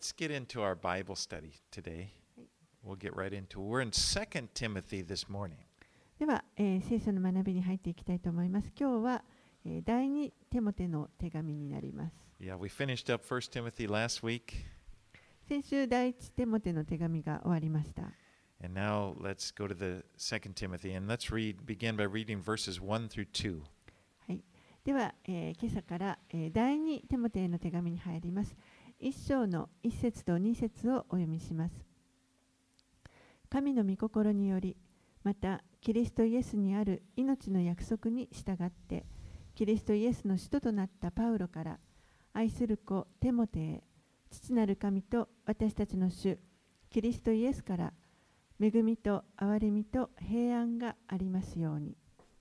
let's get into our Bible study today. We'll get right into it. We're in 2 Timothy this morning. では、聖書の学びに入っていきたいと思います。今日は、第2テモテの手紙になります。 Yeah, we finished up 1 Timothy last week. 先週第1テモテの手紙が終わりました。 And now let's go to the 2 Timothy and let's begin by reading verses 1 through 2. はい。では、今朝から、第2テモテの手紙に入ります。1章の1節と2節をお読みします。神の御心により、またキリストイエスにある命の約束に従って、キリストイエスの使徒となったパウロから、愛する子テモテへ、父なる神と私たちの主、キリストイエスから、恵みと憐れみと平安がありますように。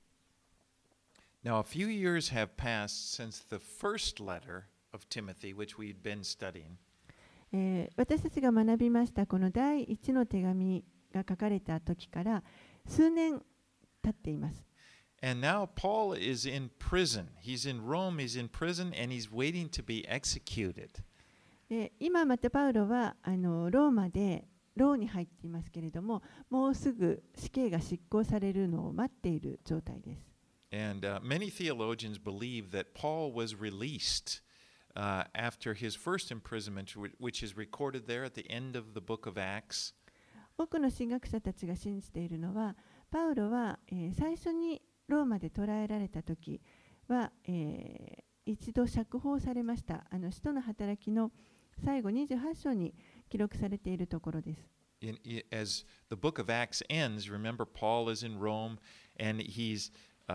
Now, a few years have passed since the first letter of Timothy, which we'd been studying. 私たちが学びましたこの第一の手紙が書かれた時から数年経っています。 And now Paul is in prison. He's in Rome, he's in prison, and he's waiting to be executed. 今またパウロはローマで牢に入っていますけれども、もうすぐ死刑が執行されるのを待っている状態です。 And many theologians believe that Paul was released after his first imprisonment, which is recorded there at the end of the book of Acts. 多くの神学者たちが信じているのは、パウロは、最初にローマで捕らえられた時は、一度釈放されました。使徒の働きの最後28章に記録されているところです。 As the book of Acts ends, remember Paul is in Rome and he's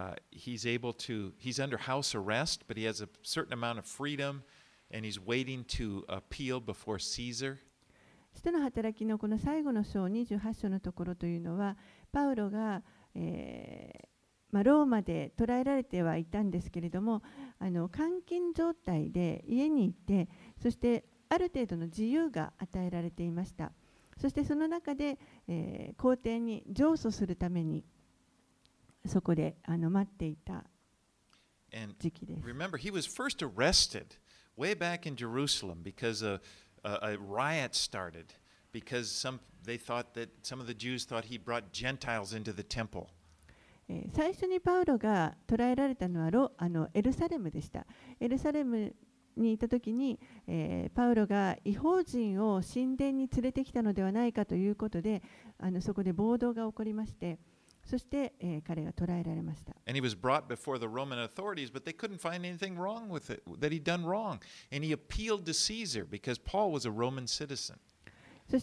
under house arrest, but he has a certain amount of freedom and he's waiting to appeal before Caesar. 使徒の働きのこの最後の章28章のところというのは、パウロが、ローマで捕らえられてはいたんですけれども、監禁状態で家にいて、そしてある程度の自由が与えられていました。そしてその中で、皇帝に上訴するためにそこで待っていた時期です。 Remember, he was first arrested way back in Jerusalem because a riot started because they thought that some of the Jews thought he brought Gentiles into the temple. 最初にパウロが捕らえられたのはエルサレムでした。エルサレムにいたときに、パウロが異邦人を神殿に連れてきたのではないかということで、そこで暴動が起こりまして、そして、彼が捕らえられました。 And he was brought before the Roman authorities, but they couldn't find anything wrong with it, that he'd done wrong. And he appealed to Caesar because Paul was a Roman citizen. そして、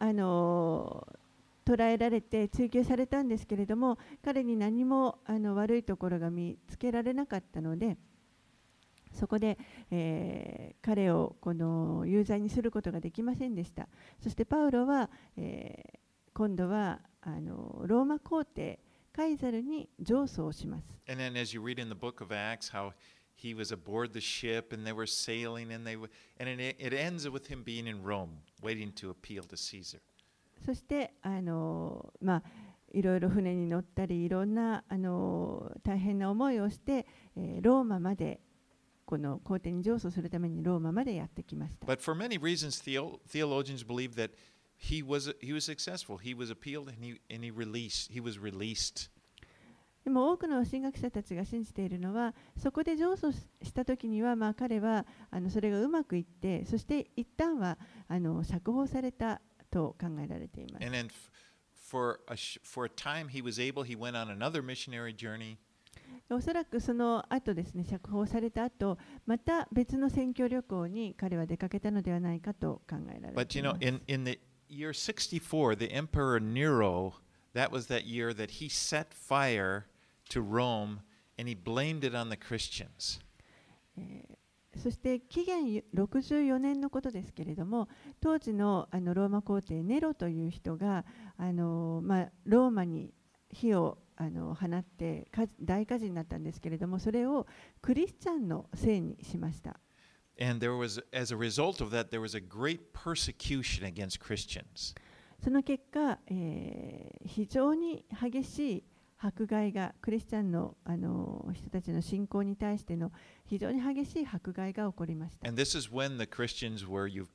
捕らえられて追及されたんですけれども、彼に何も悪いところが見つけられなかったので、そこで、彼をこの有罪にすることができませんでした。そしてパウロは、今度はローマ皇帝カイザルに上訴をします。 And then as you read in the book of Acts how he was aboard the ship and they were sailing and it ends with him being in Rome waiting to appeal to Caesar. そしていろいろ船に乗ったりいろんな大変な思いをして、ローマまでこの皇帝に上訴するためにローマまでやってきました。 But for many reasons, theologians believe that he was successful. He was appealed and he was released. でも多くの神学者たちが信じているのは、そこで上訴したときには、彼はそれがうまくいって、そして一旦は釈放されたと考えられています。 And then for a time he went on another missionary journey. おそらくその後ですね、釈放された後、また別の宣教旅行に彼は出かけたのではないかと考えられています。 But you know, in the year 64, the Emperor Nero, that was that year that he set fire to Rome and he blamed it on the Christians. そして紀元64年のことですけれども、当時のローマ皇帝ネロという人がローマに火を放って大火事になったんですけれども、それをクリスチャンのせいにしました。 And as a result of that, there was a great persecution against Christians. その結果、非常に激しい迫害がクリスチャンの人たちの信仰に対しての非常に激しい迫害が起こりました。 And this is when the Christians were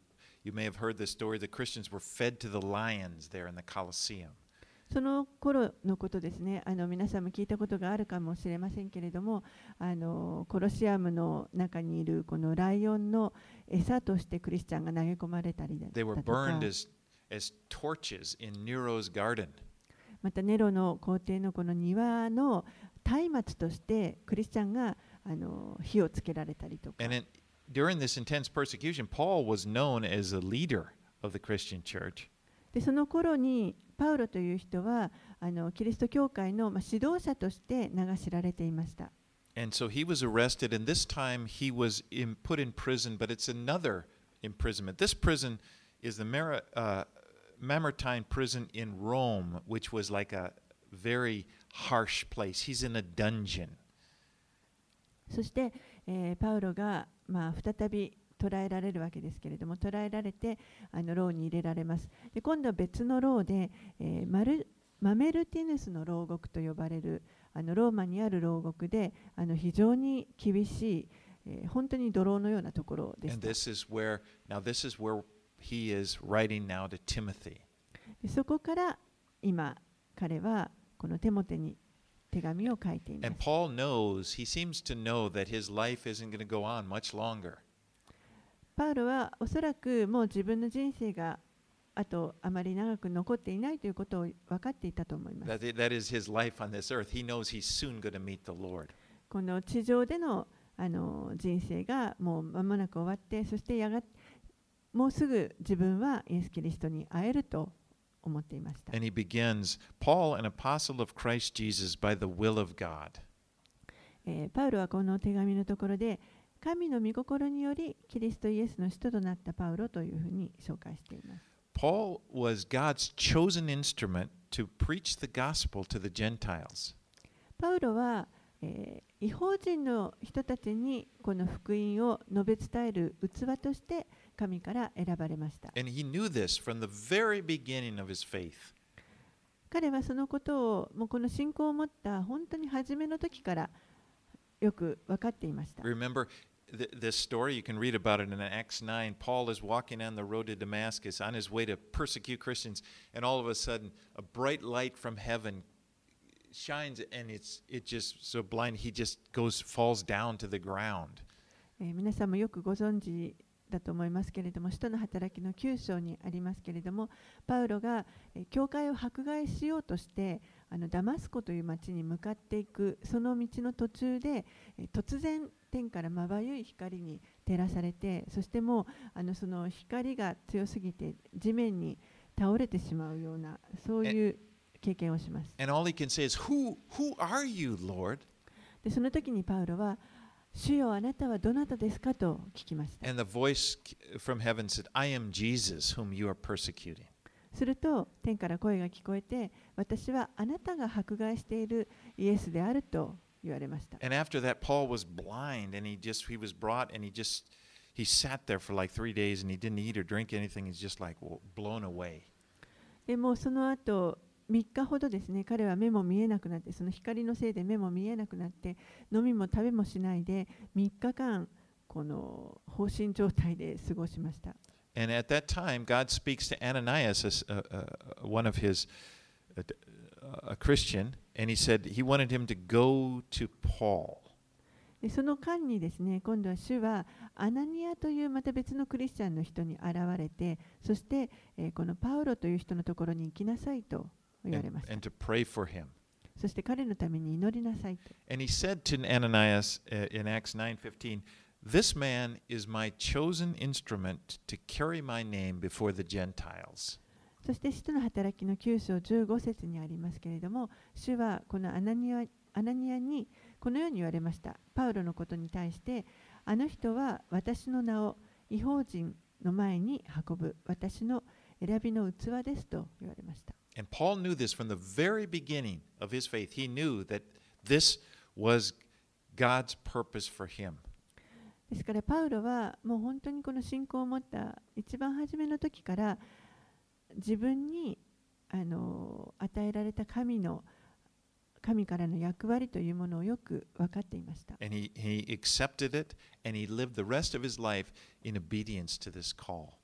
You may have heard the story, the Christians were fed to the lions there in the Colosseum. その頃のことですね。皆さんも聞いたことがあるかもしれませんけれども、コロシアムの中にいるこのライオンの餌としてクリスチャンが投げ込まれたりだ They were とか、 burned as torches in Nero's garden. またネロの皇帝のこの庭の松明としてクリスチャンが火をつけられたりとか。 And during this intense persecution, Paul was known as a leader of the Christian church. でその頃にパウロという人はキリスト教会の指導者として名が知られていました。 And so he was arrested, and this time he was put in prison, but it's another imprisonment. This prison is the Mamertine prison in Rome, which was like a very harsh place. He's in a dungeon. そして、パウロが、再び捕らえられるわけですけれども、捕らえられて牢に入れられます。で今度は別の牢で、マメルティヌスの牢獄と呼ばれるローマにある牢獄で非常に厳しい、本当に泥棒のようなところでし And た。 this is where he is writing now to Timothy. でそこから今彼はこのテモテに手紙を書いていま And す。 Paul knows, he seems to know that his life isn't going to go on much longer. パウロはおそらくもう自分の人生があとあまり長く残っていないということを分かっていたと思います。 That is his life on this earth. He knows he's soon going to meet the Lord. この地上での人生がもう間もなく終わって、そしてもうすぐ自分はイエス・キリストに会えると思っていました。 And he begins, Paul, an apostle of Christ Jesus by the will of God. パウロはこの手紙のところで神の御心によりキリストイエスの使徒となったパウロというふうに紹介しています。 Paul was God's chosen instrument to preach the gospel to the Gentiles. パウロは、異邦人の人たちにこの福音を述べ伝える器として神から選ばれました。 And he knew this from the very beginning of his faith. 彼はそのことをもうこの信仰を持った本当に初めの時からよく分かっていました。 Remember this story? You can read about it in Acts 9. Paul is walking on the road to Damascus on his way to persecute Christians, and all of a sudden, a bright light from heaven shines, and it just so blind he just falls down to the ground. 皆さんもよくご存知だと思いますけれども、使徒の働きの9章にありますけれども、パウロが教会を迫害しようとしてダマスコという町に向かっていくその道の途中で突然天からまばゆい光に照らされて、そしてもうその光が強すぎて地面に倒れてしまうようなそういう経験をします。 And all he can say is, Who are you, Lord? でその時にパウロは主よあなたはどなたですかと聞きました。 And the voice from heaven said, I am Jesus, whom you are persecuting. すると天から声が聞こえて、私はあなたが迫害しているイエスであると言われました。 And after that, Paul was blind, and he was brought, and he sat there for like 3 days, and he didn't eat or drink anything. He's just like blown away. でもうその後3日ほどですね、彼は目も見えなくなって、その光のせいで目も見えなくなって、飲みも食べもしないで3日間この放心状態で過ごしました。 And at that time, God speaks to Ananias, one of his, a Christian, and he said he wanted him to go to Paul. でその間にですね、今度は主はアナニアというまた別のクリスチャンの人に現れて、そして、このパウロという人のところに行きなさいと言われました。 And to pray for him. そして彼のために祈りなさいと。 And he said to Ananias in Acts 9:15, This man is my chosen instrument to carry my name before the Gentiles. そして使徒の働きの9章15節にありますけれども、主はこのアナニアにこのように言われました。パウロのことに対して、あの人は私の名を異邦人の前に運ぶ私の選びの器ですと言われました。 And Paul knew this from the very beginning of his faith. He knew that this was God's purpose for him. ですからパウロはもう本当にこの信仰を持った一番初めの時から自分に与えられた神からの役割というものをよく分かっていました。 And he accepted it, and he lived the rest of his life in obedience to this call.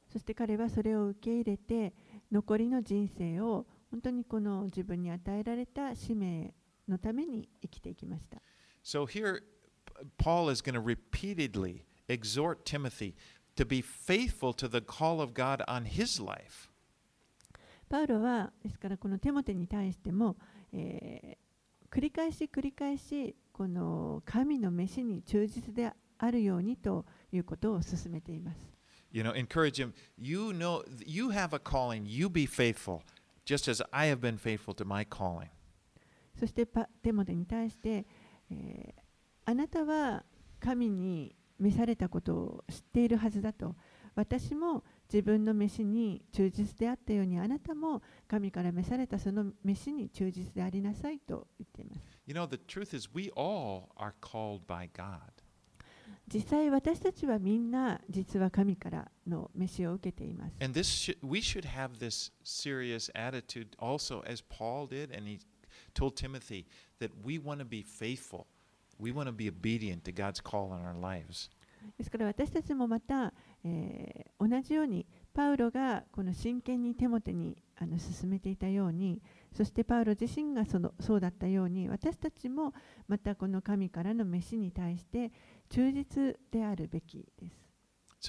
そして彼はそれを受け入れて、残りの人生を本当にこの自分に与えられた使命のために生きていきました。 So here, Paul is going to repeatedly exhort Timothy to be faithful to the call of God on his life. パウロはですからこのテモテに対しても、繰り返しこの神の召しに忠実であるようにということを進めています。 Encourage him. You know, you have a calling. You be faithful, just as I have been faithful to my calling. そしてテモテに対して、あなたは神に召されたことを知っているはずだと。私も自分の召しに忠実であったように、あなたも神から召されたその召しに忠実でありなさいと言っています。 The truth is, we all are called by God. 実際私たちはみんな実は神からの召しを受けています。 And we should have this serious attitude also, as Paul did, and he told Timothy that we want to be faithful. We want to be obedient to God's call in our lives. ですから私たちもまた、同じようにパウロがこの真剣にテモテに進めていたように、そしてパウロ自身がそうだったように、私たちもまたこの神からの召しに対して忠実であるべきです。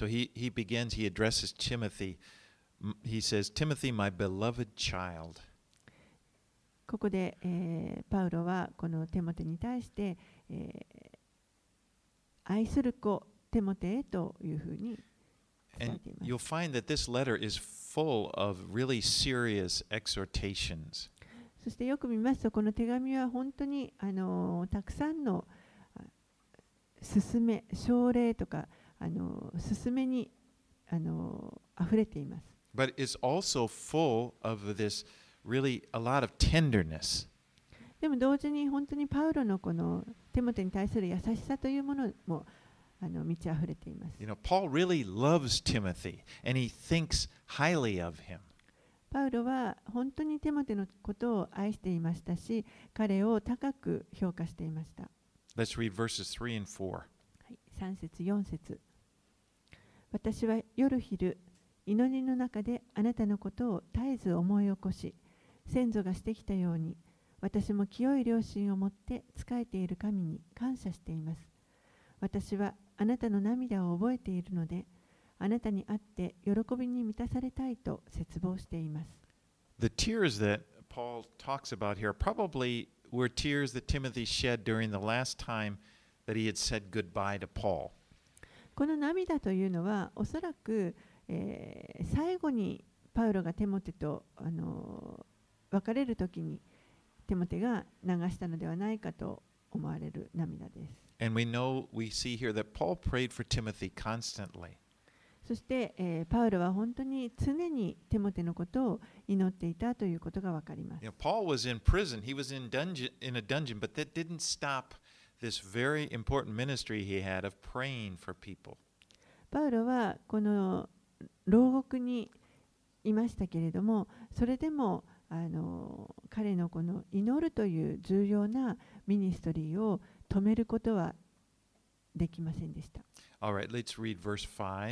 So he addresses Timothy. He says, Timothy, my beloved child. ここで、パウロはこのテモテに対して、愛する子テモテへというふうに伝えています。 And you'll find that this letter is full of really serious exhortations. そしてよく見ますと、この手紙は本当にたくさんの勧め、奨励とか勧めに溢れています。 But it's also full of this really a lot of tenderness. でも同時に本当にパウロのこのテモテに対する優しさというものも満ち溢れています。 Paul really loves Timothy and he thinks highly of him. パウロは本当にテモテのことを愛していましたし、彼を高く評価していました。 Let's read verses 3 and 4. はい、3節4節。私は夜昼、祈りの中であなたのことを絶えず思い起こし、先祖がしてきたように、私も清い良心を持って仕えている神に感謝しています。私はあなたの涙を覚えているので、あなたに会って喜びに満たされたいと切望しています。 The tears that Paul talks about here probably were tears that Timothy shed during the last time that he had said goodbye to Paul. この涙というのは、おそらく、最後にパウロがテモテと別れるときにテモテが流したのではないかと思われる涙です。 And we see here that Paul prayed for Timothy constantly. そして、パウロは本当に常にテモテのことを祈っていたということがわかります。 Paul was in prison. He was in a dungeon, but that didn't stop this very important ministry he had of praying for people. パウロはこの牢獄にいましたけれども、それでも彼のこの祈るという重要なミニストリーを止めることはできませんでした。 All right, let's read verse 5. はい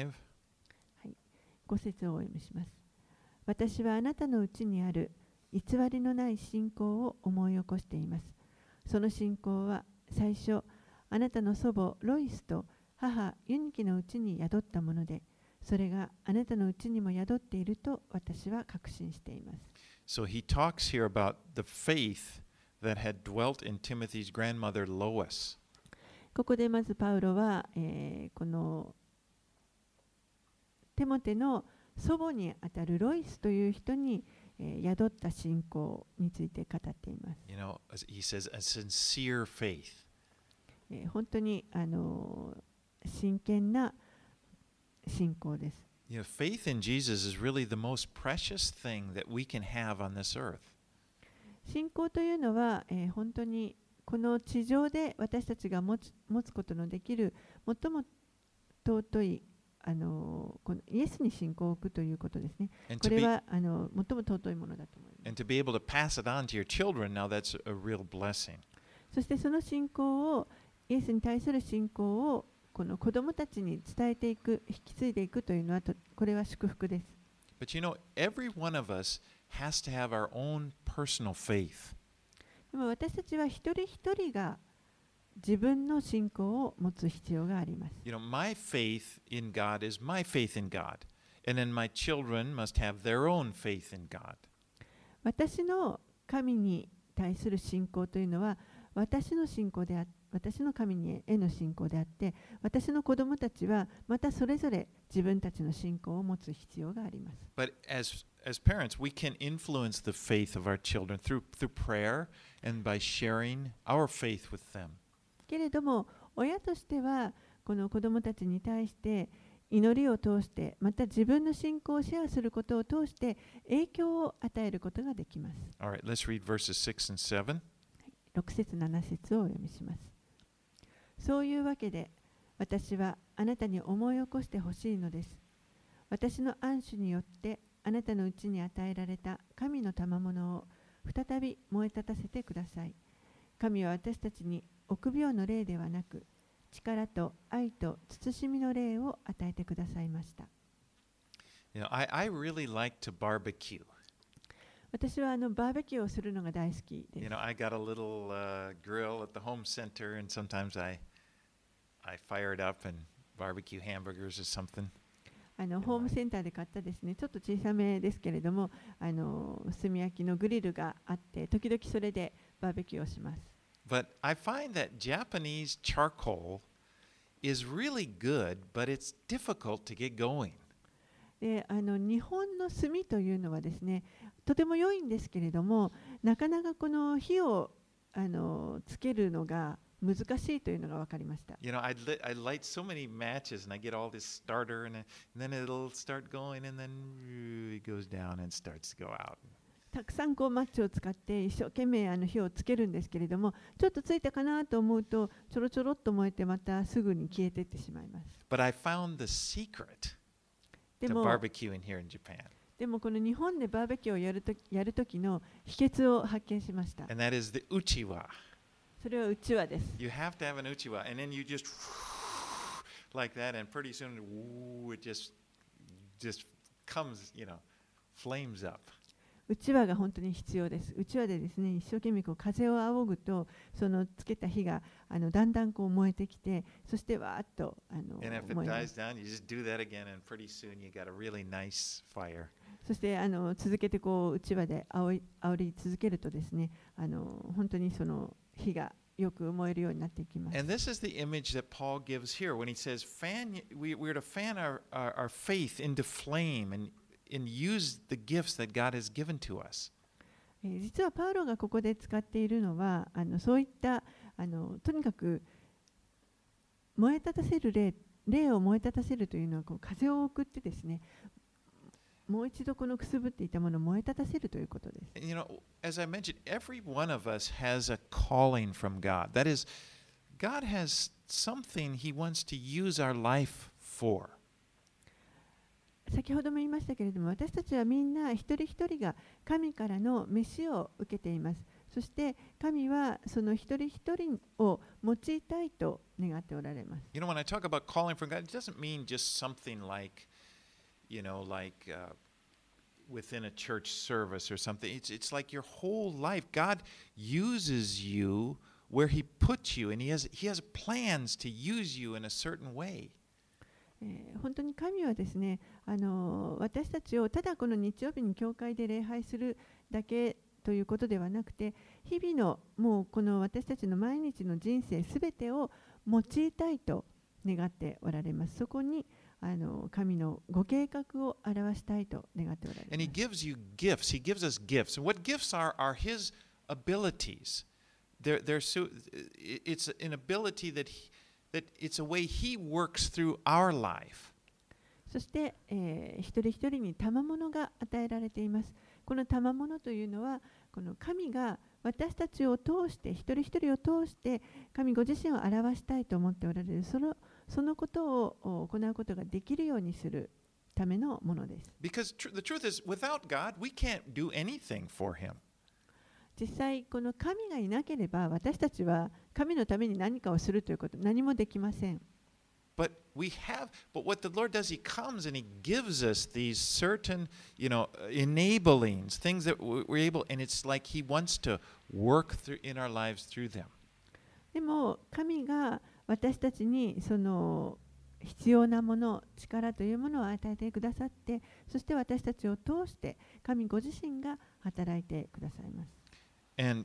、5節をお読みします。私はあなたのうちにある偽りのない信仰を思い起こしています。その信仰は最初、あなたの祖母ロイスと母ユニキのうちに宿ったもので、それがあなたのうちにも宿っていると私は確信しています。 So he talks here about the faith that had dwelt in Timothy's grandmother Lois. ここでまずパウロは、このテモテの祖母にあたるロイスという人に、宿った信仰について語っています。 He says a sincere faith. 本当に真剣な信仰です。 Faith in Jesus is really the most precious thing that we can have on this earth. 信仰というのは、本当にこの地上で私たちが持つことのできる最も尊いこのイエスに信仰を置くということですね。これは最も尊いものだと思います。 And to be able to pass it on to your children, now that's a real blessing. そしてその信仰をイエスに対する信仰をこの子供たちに伝えていく、引き継いでいくというのはこれは祝福です。 But you know, every one of us has to have our own personal faith. でも私たちは一人一人が自分の信仰を持つ必要があります。 You know, my faith in God is my faith in God. And then my children must have their own faith in God. 私の神に対する信仰というのは私の信仰であって、私の神への信仰であって、私の子供たちはまたそれぞれ自分たちの信仰を持つ必要があります。 But as parents, we can influence the faith of our children through prayer and by sharing our faith with them. けれども親としてはこの子供たちに対して祈りを通して、また自分の信仰をシェアすることを通して影響を与えることができます。 All right, let's read verses 6 and 7. 6節7節をお読みします。そういうわけで私はあなたに思い起こしてほしいのです。私の安守によってあなたのうちに与えられた神の賜物を再び燃え立たせてください。神は私たちに臆病の霊ではなく、力と愛と慎みの霊を与えてくださいました。 You know, I really like to barbecue. 私はバーベキューをするのが大好きです。 You know, I got a little grill at the home center, and sometimes I fire it up and barbecue hamburgers or something. ホームセンターで買ったですね、ちょっと小さめですけれども、炭焼きのグリルがあって、時々それでバーベキューをします。 But I find that Japanese charcoal is really good, but it's difficult to get going. で日本の炭というのはですね、とても良いんですけれども、なかなかこの火をつけるのが難しいというのが分かりました。 You know, I light so many matches and I get all this starter and then it'll start going and then it goes down and starts to go out. たくさんマッチを使って一生懸命火をつけるんですけれども、ちょっとついたかなと思うとちょろちょろっと燃えてまたすぐに消えていってしまいます。 But I found the secret to barbecuing here in Japan. でもこの日本でバーベキューをやるときの秘訣を発見しました。 And that is the uchiwa. それはうちわです。 You have to have an uchiwa, and then you just like that, and pretty soon it just comes, you know, flames up. うちわが本当に必要です。うちわでですね、一生懸命風を仰ぐと、そのつけた火がだんだん燃えてきて、そしてわーっと And if it dies down, you just do that again, and pretty soon you got a really nice fire. そして続けてうちわで煽り続けるとですね、本当にその火がよく燃えるようになっていきます。 And this is the image that Paul gives here when he says, we're to fan our faith into flame and use the gifts that God has given to us. 実はパウロがここで使っているのは、そういったとにかく燃え立たせる霊を燃え立たせるというのは風を送ってですね、もう一度このくすぶっていたものを燃え立たせるということです。 You know, as I mentioned, every one of us has a calling from God. That is, God has something He wants to use our life for. 先ほども言いましたけれども、私たちはみんな一人一人が神からの召しを受けています。そして神はその一人一人を用いたいと願っておられます。 You know, when I talk about calling from God, it doesn't mean just something like, within a church service or something. It's like your whole life. God uses you where He puts you, and He has plans to use you in a certain way. 本当に神はですね、私たちをただこの日曜日に教会で礼拝するだけということではなくて、日々のもうこの私たちの毎日の人生すべてを用いたいと願っておられます。そこに神のご計画を表したいと願っておられます。 And He gives you gifts. He gives us gifts. And what gifts are His abilities. It's an ability that it's a way He works through our life. そして、一人一人に賜物が与えられています。この賜物というのは、この神が私たちを通して、一人一人を通して、神ご自身を表したいと思っておられる、そのことを行うことができるようにするためのものです。 Because the truth is, without God, we can't do anything for Him. 実際、この神がいなければ、私たちは神のために何かをするということ、何もできません。 But what the Lord does, He comes and He gives us these certain, enablings, things that we're able, and it's like He wants to work through in our lives through them. でも神が私たちにその必要なもの、力というものを与えてくださって、そして私たちを通して神ご自身が働いてくださいます。 And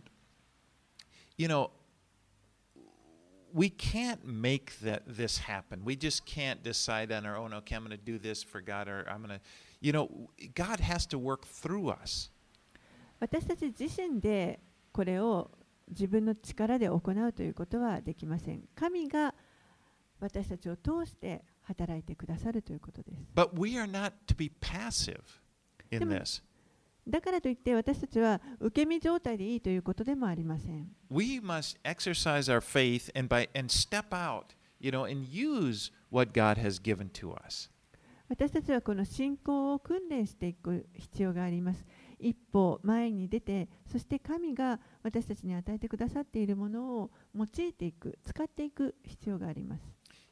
we can't make this happen. We just can't decide on our own, okay, I'm going to do this for God, or I'm going to, God has to work through us. 私たち自身でこれを自分の力で行うということはできません。神が私たちを通して働いてくださるということです。 But we are not to be passive in this. だからといって私たちは受け身状態でいいということでもありません。 We must exercise our faith and step out, and use what God has given to us. 私たちはこの信仰を訓練していく必要があります。一歩前に出て、そして神が私たちに与えてくださっているものを用いていく、使っていく必要があります。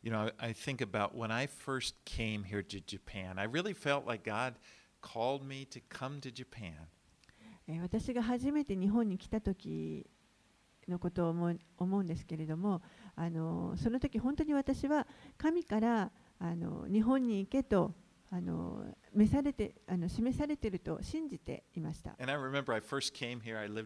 I think about when I first came here to Japan, I really felt like God called me to come to Japan. 私が初めて日本に来た時のことを思うんですけれども、その時本当に私は神から日本に行けと示されていると信じていました。 And I remember I first came here, I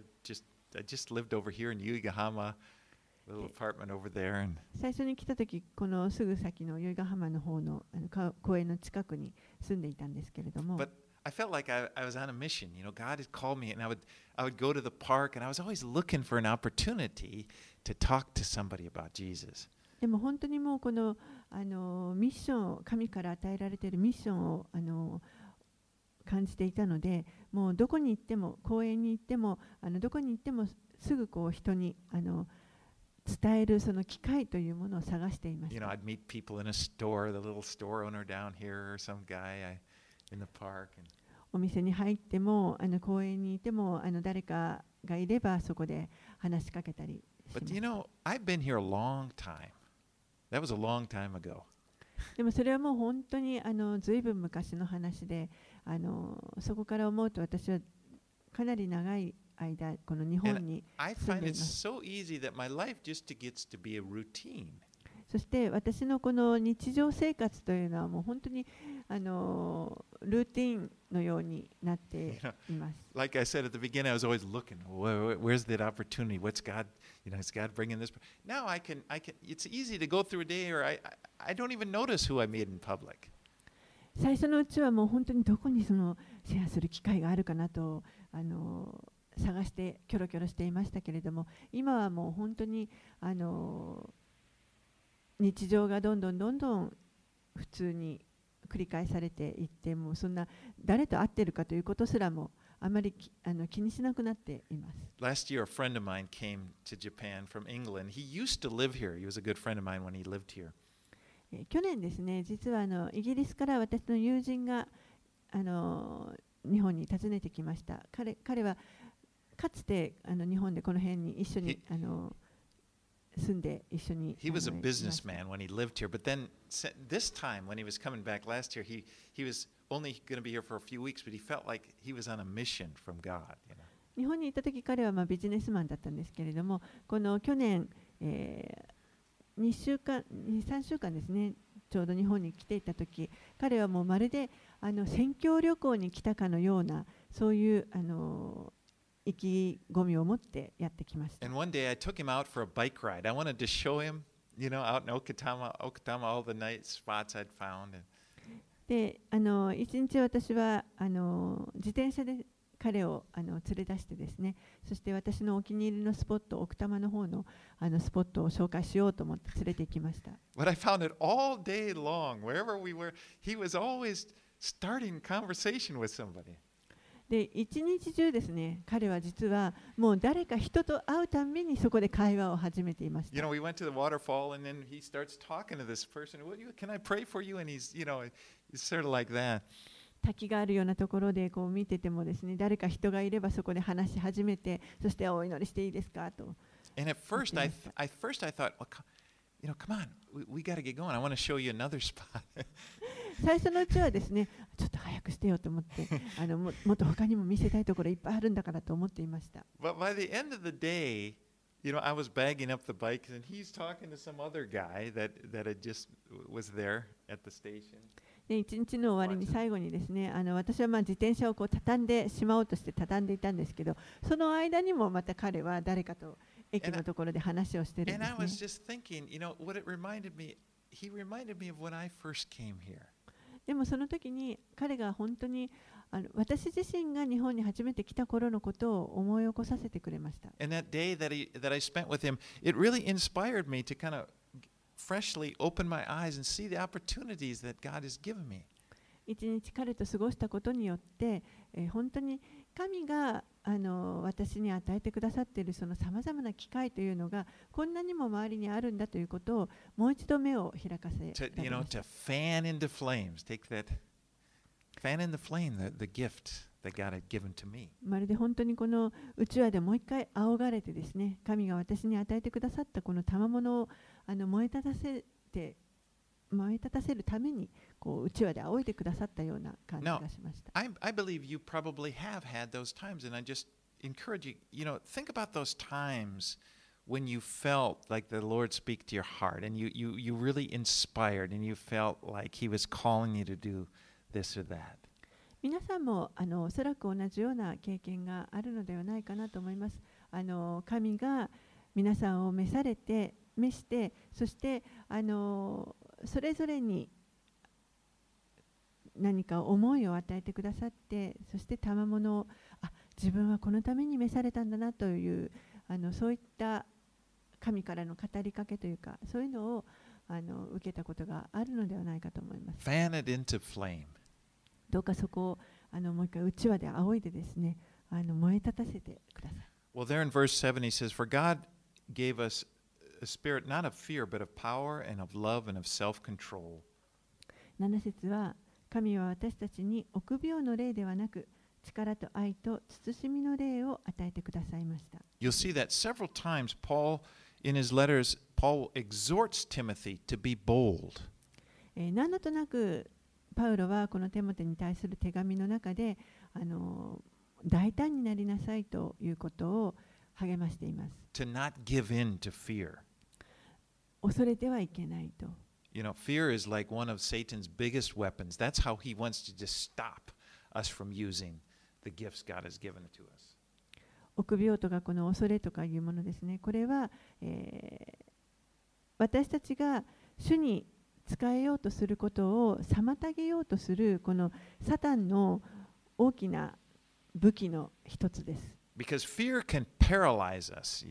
just lived over here in Yuigahama, a little apartment over there. And 最初に来た時、このすぐ先の由比ヶ浜の方の公園の近くに住んでいたんですけれども。 But I felt like I was on a mission. God had called me, and I would go to the park, and I was always looking for an opportunity to talk to somebody about Jesus. でも本当にもうこのミッションを、神から与えられているミッションを感じていたので、もうどこに行っても、公園に行っても、どこに行ってもすぐこう人に伝えるその機会というものを探していました。 I'd meet people in a store, the little store owner down here, or some guy in the park. お店に入っても、公園にいても、誰かがいればそこで話しかけたりします。 But I've been here a long time. That was a long time ago. でもそれはもう本当にずいぶん昔の話で、そこから思うと私はかなり長い間この日本に住んでいます。 そして私のこの日常生活というのはもう本当にルーティンのようになっています。 Like I said at the beginning, I was always looking, where's that opportunity? What's God, is God bringing this? Now I can. It's easy to go through a day, or I don't even notice who I meet in public. 最初のうちはもう本当にどこにそのシェアする機会があるかなと探してキョロキョロしていましたけれども、今はもう本当に日常がどんどん普通に繰り返されていって、もうそんな誰と会っているかということすらもあまり気にしなくなっています。 Last year, a friend of mine came to Japan from England. He used to live here. He was a good friend of mine when he lived here. 去年ですね、実はイギリスから私の友人が日本に訪ねてきました。彼はかつて日本でこの辺に一緒に住んで一緒に。 He was a businessman when he lived here, but then this time when he was coming back last year, he was only going to be here for a few weeks, but he felt like he was on a mission from God. 日本にいた時彼はビジネスマンだったんですけれども、この去年、2、3週間ですね、ちょうど日本に来ていた時、彼はもうまるで宣教旅行に来たかのようなそういう意気込みを持ってやってきました。 And one day I took him out for a bike ride. I wanted to show him, out in Okutama, all the nice spots I'd found. で、一日私は自転車で彼を連れ出してですね、そして私のお気に入りのスポット、奥多摩の方のスポットを紹介しようと思って連れて行きました。 But I found it all day long, wherever we were, he was always starting conversation with somebody. で、一日中ですね、彼は実はもう誰か人と会うたんびにそこで会話を始めていました。 We went to the waterfall and then he starts talking to this person. Can I pray for you? And he's sort of like that. 滝があるようなところでこう見ててもですね、誰か人がいればそこで話し始めて、そしてお祈りしていいですかと。 And at first I thought, come on, we got to get going. I want to show you another spot. 最初のうちはですね、ちょっと早くしてよと思ってもっと他にも見せたいところいっぱいあるんだからと思っていました。 But by the end of the day, I was bagging up the bikes, and he's talking to some other guy that had just was there at the station. で一日の終わりに最後にですね、私は自転車をこう畳んでしまおうとして畳んでいたんですけど、その間にもまた彼は誰かと駅のところで話をしてるんです And I was ね。 just thinking, what it reminded me, he reminded me of when I first came here. でもその時に彼が本当に私自身が日本に初めて来た頃のことを思い起こさせてくれました。 And that day that I spent with him, it really inspired me to kind of freshly open my eyes and see the opportunities that God has given me. 一日彼と過ごしたことによって、本当に神が私に与えてくださっているそのさまざまな機会というのがこんなにも周りにあるんだということをもう一度目を開かせられました。 To fan into flames, take that, fan in the flame, the gift that God had given to me. まるで本当にこのうちわでもう一回仰がれてですね、神が私に与えてくださったこの賜物を燃え立たせるためにこううちわで仰いでくださったような感じがしました。 I believe you probably have had those times, and I just encourage you, think about those times when you felt like the Lord speak to your heart, and you really inspired, and you felt like He was calling you to do this or that. 皆さんもおそらく同じような経験があるのではないかなと思います。神が皆さんを召して、そしてそれぞれに何か思いを与えてくださって、そして賜物を自分はこのために召されたんだなというそういった神からの語りかけというか、そういうのを受けたことがあるのではないかと思います。 Fan it into flame. どうかそこをもう一回うちわで仰いでですね、燃え立たせてください。 Well, there in verse 7 he says, For God gave us a spirit not of fear, but of power and of love and of self-control. 7節は、神は私たちに臆病の霊ではなく、力と愛と慎みの霊を与えてくださいました。 You'll see that several times Paul, in his letters, Paul exhorts Timothy to be bold. 何度となくパウロはこのテモテに対する手紙の中で大胆になりなさいということを励ましています。 To not give in to fear. 恐れてはいけないと。 Fear is like one of Satan's biggest weapons. That's how he wants to just stop us from using the gifts God has given to us. 臆病とかこの恐れとかいうものですね。これは、私たちが主に使えようとすることを妨げようとするこのサタンの大きな武器の一つです。 Because fear can paralyze us,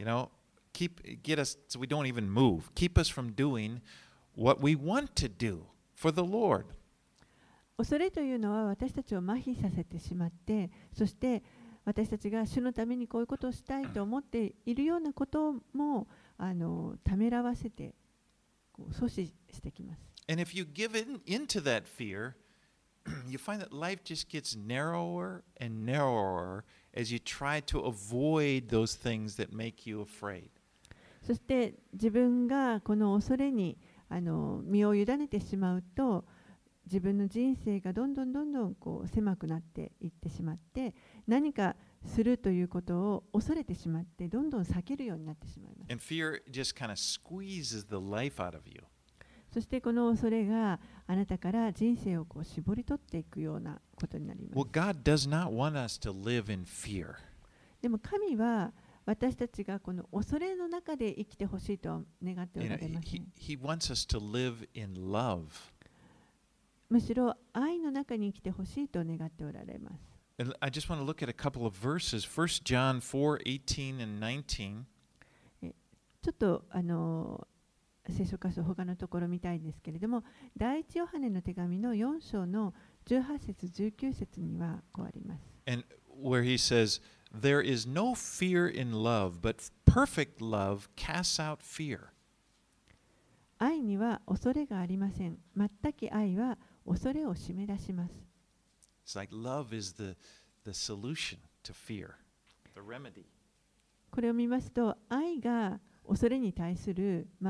get us so we don't even move, keep us from doing what we want to do for the Lord. 恐れというのは私たちを麻痺させてしまって、そして私たちが主のためにこういうことをしたいと思っているようなこともためらわせて阻止してきます。 And if you give into that fear, you find that life just gets narrower and narrower as you try to avoid those things that make you afraid. そして自分がこの恐れに身を委ねてしまうと、自分の人生がどんどんこう狭くなっていってしまって、何かするということを恐れてしまって、どんどん避けるようになってしまいます。 And fear just kind of squeezes the life out of you. そしてこの恐れがあなたから人生をこう絞り取っていくようなことになります。 Well, God does not want us to live in fear. でも神は私たちがこの恐れの中で生きてほしいとは願っておられません。 He wants us to live in love. むしろ愛の中に生きてほしいと願っておられます。 And I just want to look at a couple of verses. 1 John 4:18 and 19. ちょっと聖書箇所他のところ見たいんですけれども、第一ヨハネの手紙の4章の18節19節にはこうあります。 And where he says, There is no fear in love, but perfect love casts out fear. 愛には恐れがありません。全く愛は恐れを締め出します。 It's like love is the solution to fear, the remedy. これを見ますと、愛が恐れに対する、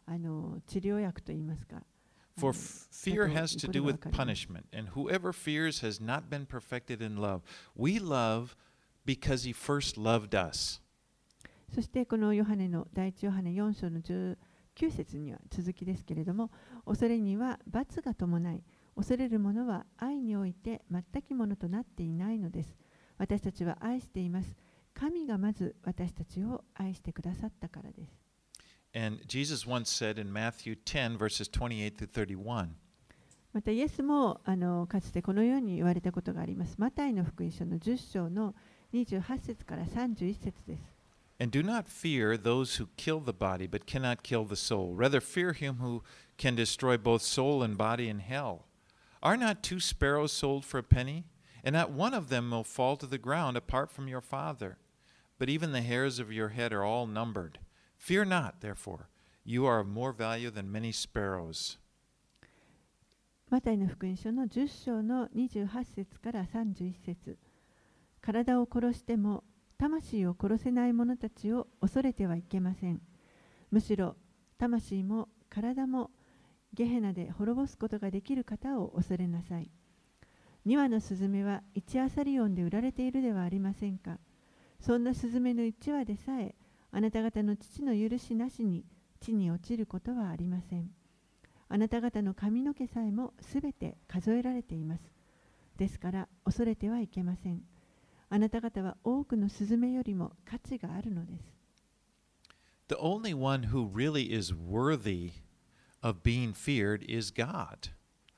治療薬といいますか。 For fear has to do with punishment, and whoever fears has not been perfected in love. We love because he first loved us. そしてこの第一ヨハネ4章の19節には続きですけれども、恐れには罰が伴い、恐れる者は愛において全きものとなっていないのです。私たちは愛しています。神がまず私たちを愛してくださったからです。 And Jesus once said in Matthew 10, verses 28 through 31, またイエスもかつてこのように言われたことがあります。マタイの福音書の10章の28節から31節です。 And do not fear those who kill the body, but cannot kill the soul. Rather fear him who can destroy both soul and body in hell. Are not 2 sparrows sold for a penny? And not one of them will fall to the ground apart from your Father. But even the hairs of your head are all numbered. Fear not, therefore. You are of more value than many sparrows. マタイの福音書の10章の28節から31節。体を殺しても魂を殺せない者たちを恐れてはいけません。むしろ魂も体もゲヘナで滅ぼすことができる方を恐れなさい。2羽のスズメは1アサリオンで売られているではありませんか。そんなスズメの1羽でさえあなた方の父の許しなしに地に落ちることはありません。あなた方の髪の毛さえもすべて数えられています。ですから恐れてはいけません。あなた方は多くのスズメよりも価値があるのです。 The only one who really is worthy of being feared is God.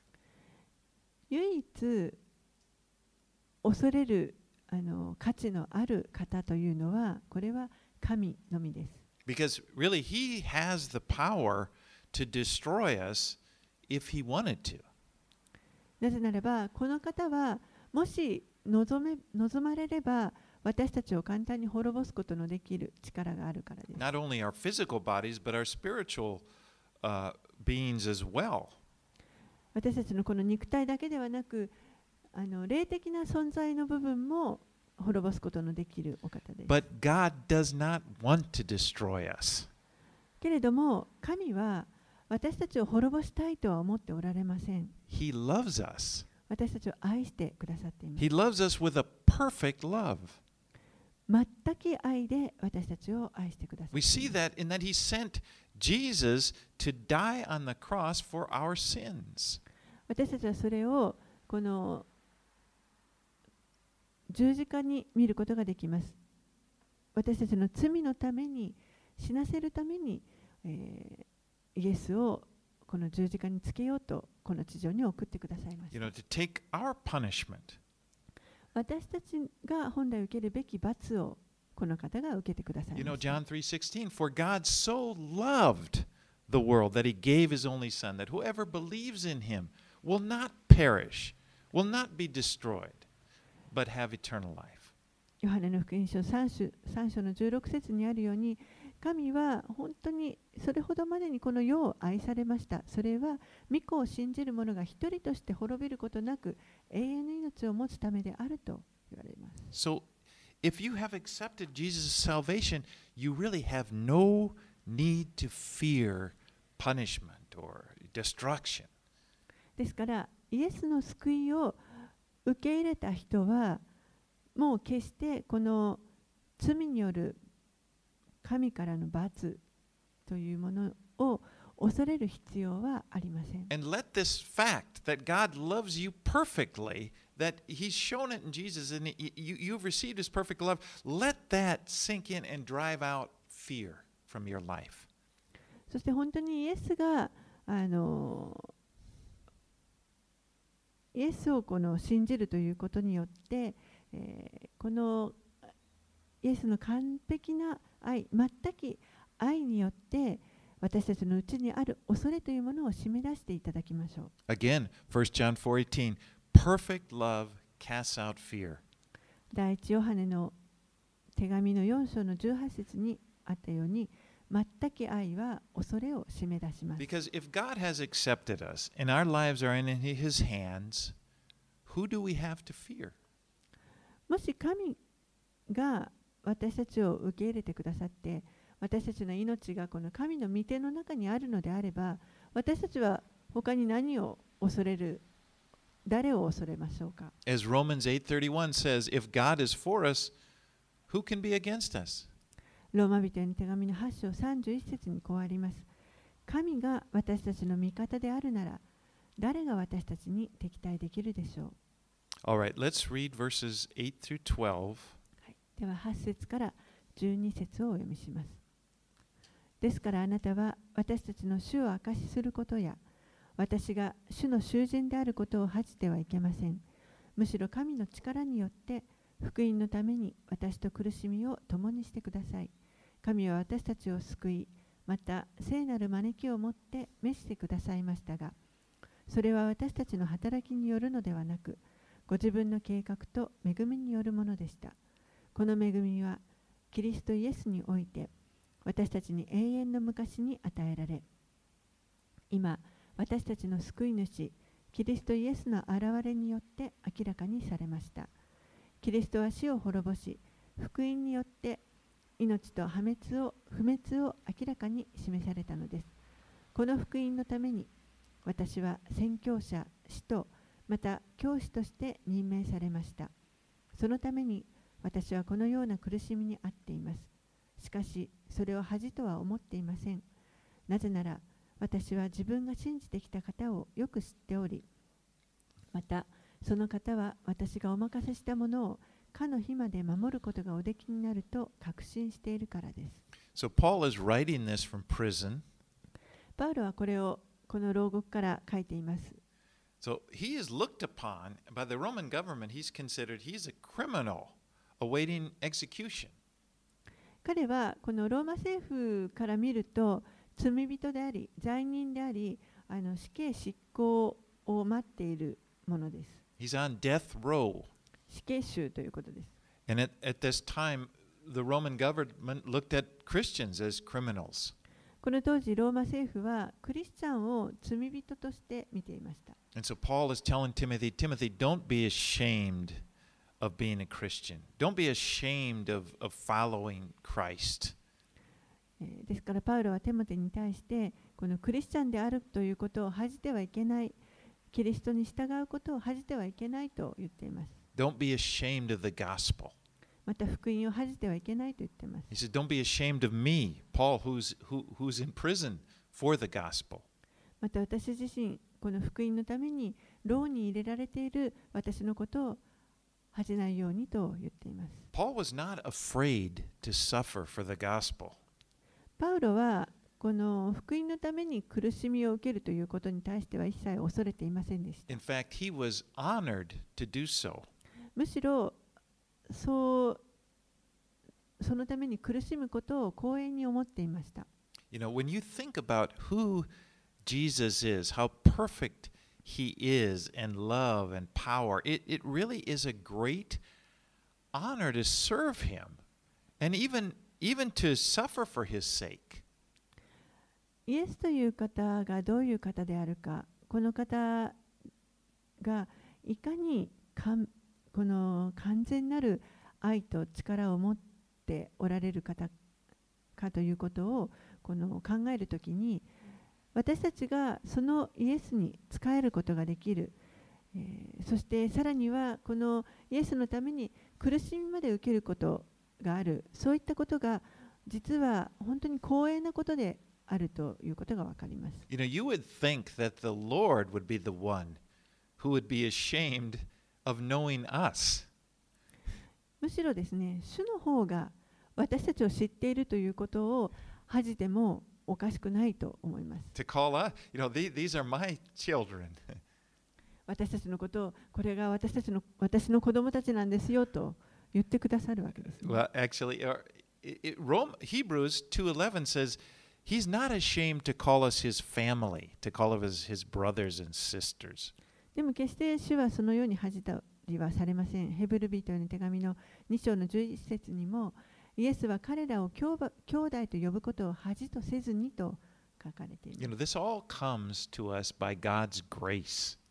唯一恐れる価値のある方というのは、これは神のみです。 Because really, he has the power to destroy us if he wanted to. なぜならば、この方はもし望まれれば、私たちを簡単に滅ぼすことのできる力があるからです。 Not only our physical bodies, but our spiritual beings as well. 私たちのこの肉体だけではなく、霊的な存在の部分も滅ぼすことのできるお方です。 But God does not want to destroy us. けれども、神は私たちを滅ぼしたいとは思っておられません。 He loves us. 私たちを愛してくださっています。 He loves us with a perfect love. 全く愛で私たちを愛してくださっています。 We see that in that He sent Jesus to die on the cross for our sins. 私たちはそれをこの十字架に見ることができます。私たちの罪のために死なせるために、イエスをこの十字架につけようとこの地上に送ってくださいました。 You know, to take our punishment. 私たちが本来受けるべき罰をこの方が受けてください You ま know, した。 John 3:16, for God so loved the world that He gave His only Son, that whoever believes in Him will not perish, will not be destroyed, but have eternal life. ヨハネの福音書3章の16節にあるように、神は本当にそれほどまでにこの世を愛されました。それは御子を信じる者が一人として滅びることなく永遠の命を持つためであると言われます。 So, if you have accepted Jesus' salvation, you really have no need to fear punishment or destruction. ですからイエスの救いを受け入れた人はもう決してこの罪による神からの罰というものを恐れる必要はありません。 And let this fact that God loves you perfectly, that He's shown it in Jesus, and you've received His perfect love, let that sink in and drive out fear from your life. そして本当にイエスがイエスをこの信じるということによって、このイエスの完璧な愛、全く愛によって私たちのうちにある恐れというものを締め出していただきましょう。 Again, 1 John 4:18, perfect love casts out fear. 第一ヨハネの手紙の4章の18節にあったように、全く愛は恐れを締め出します。 Because if God has accepted us and our lives are in His hands, who do we have to fear? もし神が私たちを受け入れてくださって、 私たちの命がこの神の御手の中にあるのであれば、私たちは他に何を恐れる、誰を恐れましょうか。 As Romans 8:31 says, if God is for us, who can be against us? ローマ人への手紙の8章31節にこうあります。神が私たちの味方であるなら、誰が私たちに敵対できるでしょう。 All right, let's read verses 8 through 12. では8節から12節をお読みします。ですからあなたは私たちの主を証しすることや、私が主の囚人であることを恥じてはいけません。むしろ神の力によって福音のために私と苦しみを共にしてください。神は私たちを救い、また聖なる招きをもって召してくださいましたが、それは私たちの働きによるのではなく、ご自分の計画と恵みによるものでした。この恵みはキリストイエスにおいて私たちに永遠の昔に与えられ、今私たちの救い主キリストイエスの現れによって明らかにされました。キリストは死を滅ぼし、福音によって命と不滅を明らかに示されたのです。この福音のために私は宣教者、使徒、また教師として任命されました。そのために私はこのような苦しみにあっています。しかしそれを恥とは思っていません。なぜなら私は自分が信じてきた方をよく知っており、またその方は私がお任せしたものをかの日まで守ることがおできになると確信しているからです。 So Paul is writing this from prison. パウロはこれをこの牢獄から書いています。 So he is looked upon by the Roman government. He's considered he's a criminal awaiting execution. 彼はこのローマ政府から見ると罪人であり罪人であり、死刑執行を待っているものです。 He's on death row. 死刑囚ということです。 And at this time, the Roman government looked at Christians as criminals. この当時ローマ政府はクリスチャンを罪人として見ていました。 And so Paul is telling Timothy, don't be ashamed of being a Christian. Don't be ashamed of following Christ. ですからパウロはテモテに対してこのクリスチャンであるということを恥じてはいけない、キリストに従うことを恥じてはいけないと言っています。 Don't be ashamed of the gospel. また福音を恥じてはいけないと言っています。 He said, don't be ashamed of me, Paul, who's in prison for the gospel. また私自身、この福音のために牢に入れられている私のことを恥じないようにと言っています。 Paul was not afraid to suffer for the gospel. パウロはこの福音のために苦しみを受けるということに対しては一切恐れていませんでした。 In fact, he was honored to do so. むしろそのために苦しむことを光栄に思っていました。 You know, when you think about who Jesus is, how perfect he is in love and power, it really is a great honor to serve him and even to suffer for his sake. イエスという方がどういう方であるか、この方がいかにこの完全なる愛と力を持っておられる方かということを考えるときに、私たちがそのイエスに仕えることができる、そしてさらにはこのイエスのために苦しみまで受けることがある、そういったことが実は本当に光栄なことであるということがわかります。 You know, you would think that the Lord would be the one who would be ashamed of knowing us. むしろですね、主の方が私たちを知っているということを恥じてもおかしくないと思います。 To call us, these are my children. 私たちのことを、これが私の子供たちなんですよと言ってくださるわけです、ね。 Well, actually, Hebrews 2:11 says he's not ashamed to call us his family, to call us his brothers and sisters. でも決して主はそのように恥じたりはされません。ヘブル人への手紙の2章の11節にも、イエスは彼らを兄弟と呼ぶことを恥とせずにと書かれています。 This all comes to us by God's grace.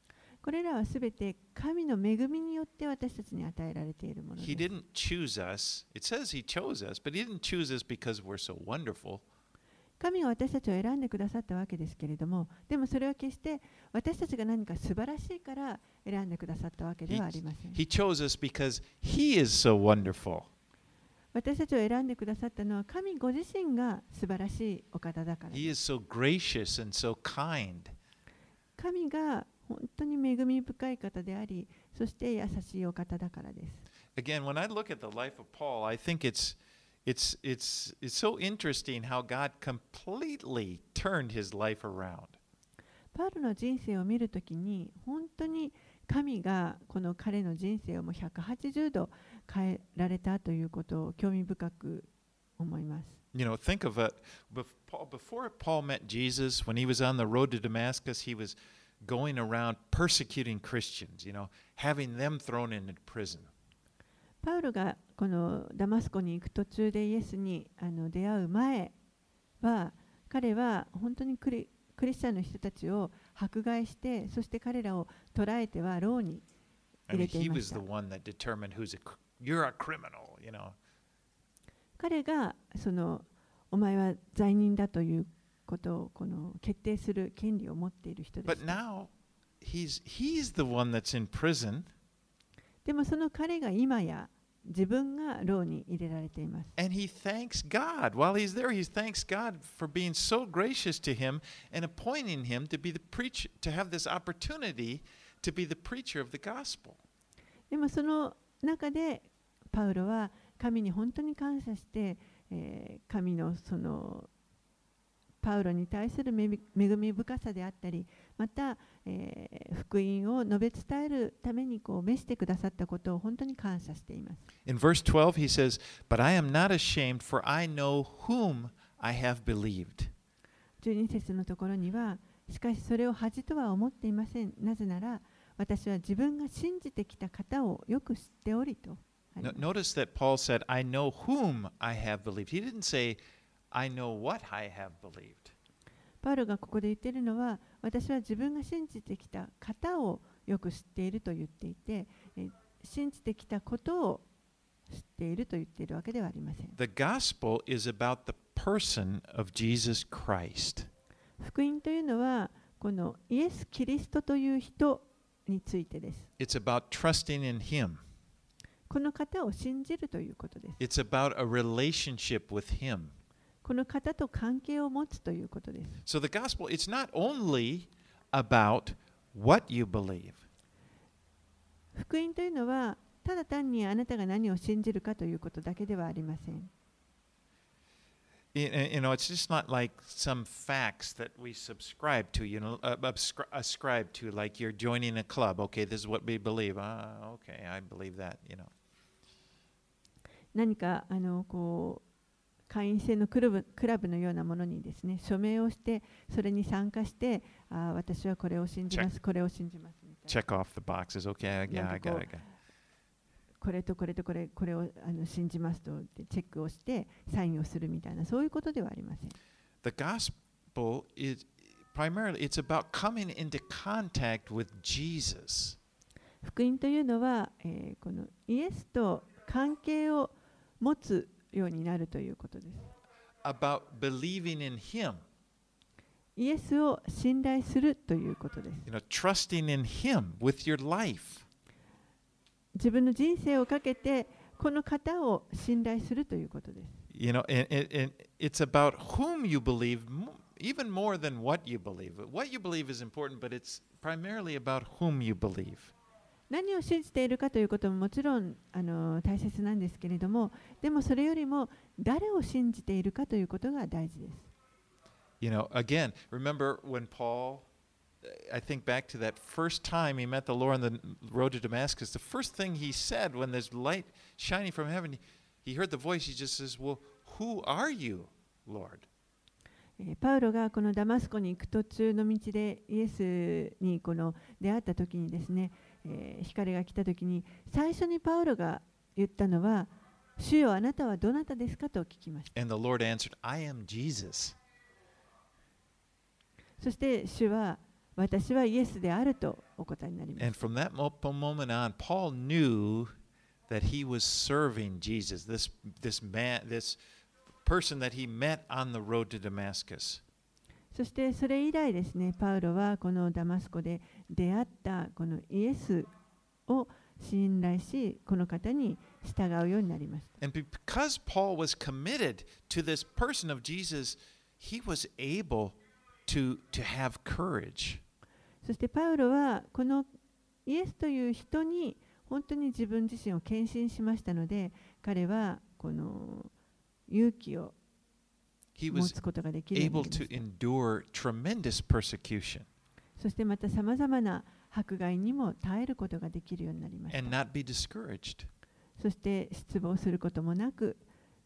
これらはすべて神の恵みによって私たちに与えられているものです。 He didn't choose us. It says He chose us, but He didn't choose us because we're so wonderful. 神が私たちを選んでくださったわけですけれども、でもそれは決して私たちが何か素晴らしいから選んでくださったわけではありません。 He chose us because He is so wonderful. 私たちを選んでくださったのは神ご自身が素晴らしいお方だからです。 He is so gracious and so kind. 神が本当に恵み深い方であり、そして優しいお方だからです。 Again, when I look at the life of Paul, I think it's so interesting how God completely turned his life around. パウロの人生を見るときに、本当に神がこの彼の人生をもう180度変えられたということを興味深く思います。 You know, think of it. Before Paul met Jesus, when he was on the road to Damascus, he was going around persecuting Christians, you know, having them thrown into prison. パウロがこのダマスコに行く途中でイエスに出会う前は、彼は本当にクリスチャンの人たちを迫害して、そして彼らを捕らえては牢に入れていました。 You're a criminal, you know. 彼がお前は罪人だということを決定する権利を持っている人です。 But now he's the one that's in prison. でもその彼が今や自分が牢に入れられています。 And he thanks God. While he's there, he thanks God for being so gracious to him and appointing him to be the preacher, to have this opportunity to be the preacher of the gospel. でもその中でパウロは神に本当に感謝して、神のパウロに対する恵み深さであったり、また、福音を述べ伝えるために召してくださったことを本当に感謝しています。 In verse 12 he says, "But I am not ashamed, for I know whom I have believed." 12節のところには、しかしそれを恥とは思っていません。なぜなら、私は自分が信じてきた方をよく知っておりと。 Notice that Paul said, I know whom I have believed. He didn't say, I know what I have believed. パウロがここで言っているのは、私は自分が信じてきた方をよく知っていると言っていて、信じてきたことを知っていると言っているわけではありません。 The gospel is about the person of Jesus Christ. 福音というのは、このイエス・キリストという人についてです。 It's about trusting in Him. この方を信じるということです。 It's about a relationship with Him. この方と関係を持つということです。 So the gospel, it's not only about what you believe. 福音というのは、ただ単にあなたが何を信じるかということだけではありません。 You know, it's just not like some facts that we subscribe to, you know, ascribe to, like you're joining a club. Okay, this is what we believe. Okay, I believe that, you know. 何か会員制のクラブのようなものにですね、署名をして、それに参加して、私はこれを信じます、これを信じますみたいな。 Check off the boxes. Okay, yeah, I got it. これとこれとこれを信じますとチェックをしてサインをするみたいな、そういうことではありません。 The gospel is primarily it's about coming into contact with Jesus. 福音というのは、このイエスと関係を持つようになるということです。 About believing in Him. イエスを信頼するということです。 You know, trusting in Him with your life. 自分の人生をかけてこの方を信頼するということです。 You know, and it's about whom you believe even more than what you believe. What you believe is important, but it's primarily about whom you believe. 何を信じているかということももちろん大切なんですけれども、でもそれよりも誰を信じているかということが大事です。 You know, again, remember when I think back to that first time he met the Lord on the road to Damascus, the first thing he said when there's light shining from heaven, he heard the voice, he just says, Well, who are you, Lord? パウロがこのダマスコに行く途中の道でイエスに出会った時にですね、光が来た時に最初にパウロが言ったのは、主よあなたはどなたですかと聞きました。 And the Lord answered, I am Jesus. そして主は私はイエスであるとお答えになりま And す。 from that moment on, Paul knew that he was serving Jesus, this person that he met on the road to Damascus. そしてそれ以来ですね、パウロはこのダマスコで出会ったこのイエスを信頼し、この方に従うようになりました。 And because Paul was committed to this person of Jesus, he was able to have courage. そしてパウロはこのイエスという人に本当に自分自身を献身しましたので、彼はこの勇気を He 持 was つことができるようにな able りま to した。 endure tremendous persecution そしてまたさまざまな迫害にも耐えることができるようになりまし and た。 not be discouraged. そして失望することもなく、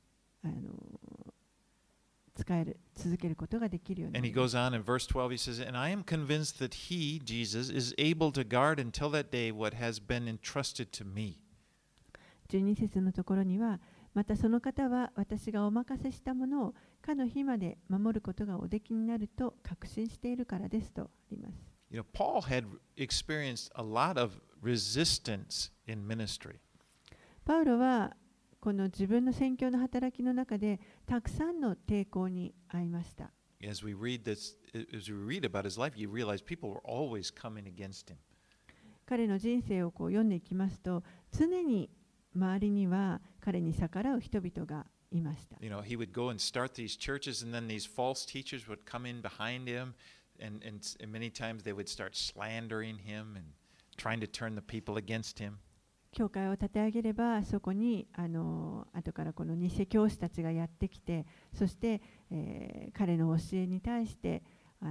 続けることができるようにな And り he ました。 goes on in verse 12, he says, And I am convinced that he, Jesus, is able to guard until that day what has been entrusted to me. 12節のところには、またその方は私がお任せしたものをかの日まで守ることがおできになると確信しているからですとあります。 You know, Paul had experienced a lot of resistance in ministry. パウロはこの自分の宣教の働きの中でたくさんの抵抗に遭いました。 As we read about his life, you realize people were always coming against him. 彼の人生を読んでいきますと、常に周りには彼に逆らう人々がいました。 You know, he would go and start these churches, and then these false teachers would come in behind him, and many times they would start slandering him and trying to turn the people against him. 教会を立て上げれば、そこに後からこの偽教師たちがやってきて、そして、彼の教えに対して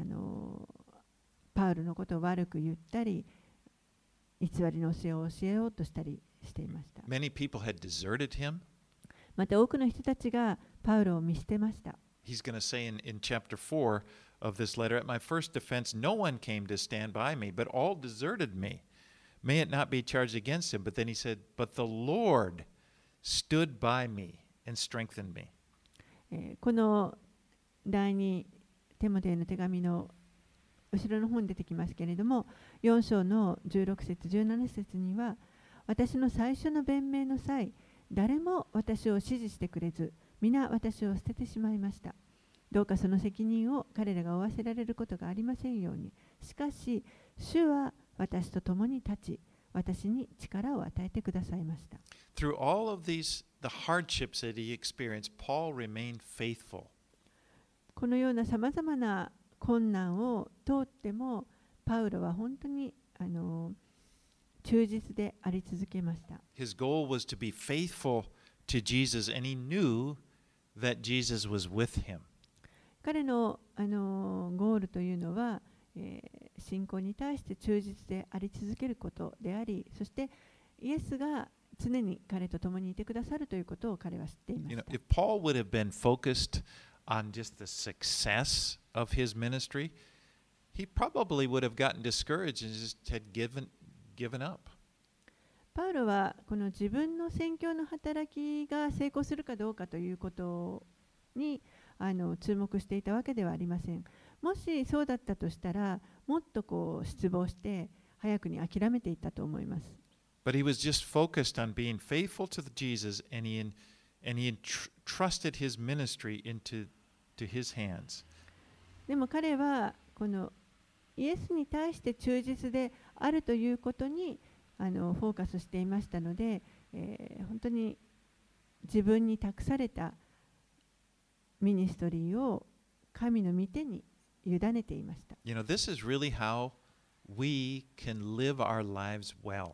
パウロのことを悪く言ったり、偽りの教えを教えようとしたりしていました。 Many people had deserted him. また多くの人たちがパウロを見捨てました。 He's going to say in chapter 4 of this letter, At my first defense, no one came to stand by me, but all deserted me. May it not be charged against him. But then he said, But the Lord stood by me and strengthened me. この第2テモテへの手紙の後ろの方に出てきますけれども、4章の16節17節には、私の最初の弁明の際、誰も私を支持してくれず、皆私を捨ててしまいました。どうかその責任を彼らが負わせられることがありませんように。しかし、主は私と共に立ち、私に力を与えてくださいました。 Through all of the hardships that he experienced, Paul remained faithful. このようなさまざまな困難を通っても、パウロは本当に忠実であり続けました。 His goal was to be faithful to Jesus, and he knew that Jesus was with him. 彼の、ゴールというのは、信仰に対して忠実であり続けることであり、そしてイエスが常に彼と共にいてくださるということを彼は知っていまし You know, た。 if Paul would have been focused on just the success of his ministry, he probably would have gotten discouraged and just had given up. パウロはこの自分の宣教の働きが成功するかどうかということに注目していたわけではありません。もしそうだったとしたら、もっと失望して早くに諦めていったと思います。 But he was just focused on being faithful to Jesus, and he entrusted his ministry into his hands. でも彼はこのイエスに対して忠実であるということにフォーカスしていましたので、本当に自分に託されたミニストリーを神の御手に委ねていました。 You know, this is really how we can live our lives well.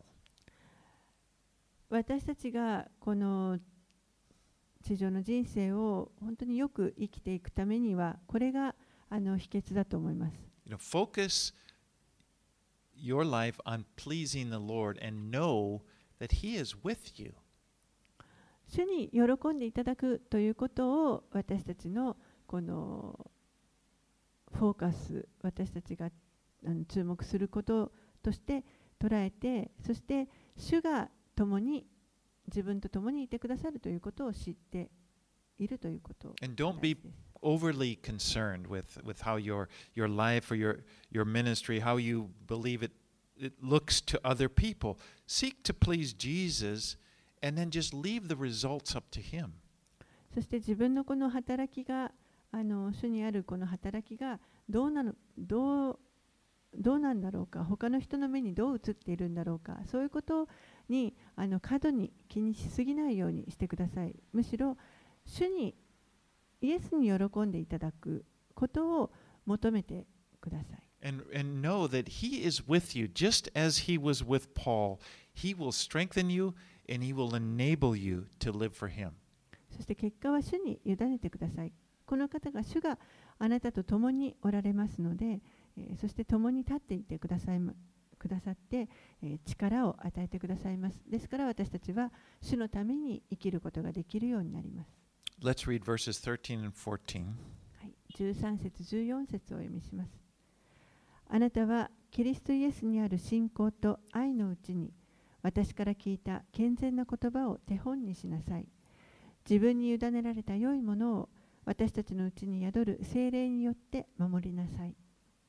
私たちがこの地上の人生を本当によく生きていくためには、これが秘訣だと思います。 You know, focus your life on pleasing the Lord and know that He is with you. 主に喜んでいただくということを私たちのこのフォーカス、私たちが注目することとして捉えて、そして主が自分と共にいてくださるということを知っているということが And 大 don't 事 be です。 overly concerned with how your life or your ministry, how you believe it looks to other people. Seek to please Jesus and then just leave the results up to Him. そして自分のこの働きが主にあるこの働きがどうなんだろうか、他の人の目にどう映っているんだろうか、そういうことに過度に気にしすぎないようにしてください。むしろ主にイエスに喜んでいただくことを求めてください。 And know that He is with you, just as He was with Paul. He will strengthen you and He will enable you to live for Him. そして結果は主に委ねてください。この方が主があなたと共におられますので、そして共に立っていてくださって、力を与えてくださいます。ですから私たちは主のために生きることができるようになります。 Let's read verses 13 and 14. はい、13節14節をお読みします。あなたはキリストイエスにある信仰と愛のうちに私から聞いた健全な言葉を手本にしなさい。自分に委ねられた良いものを私たちのうちに宿る聖霊によって守りなさい。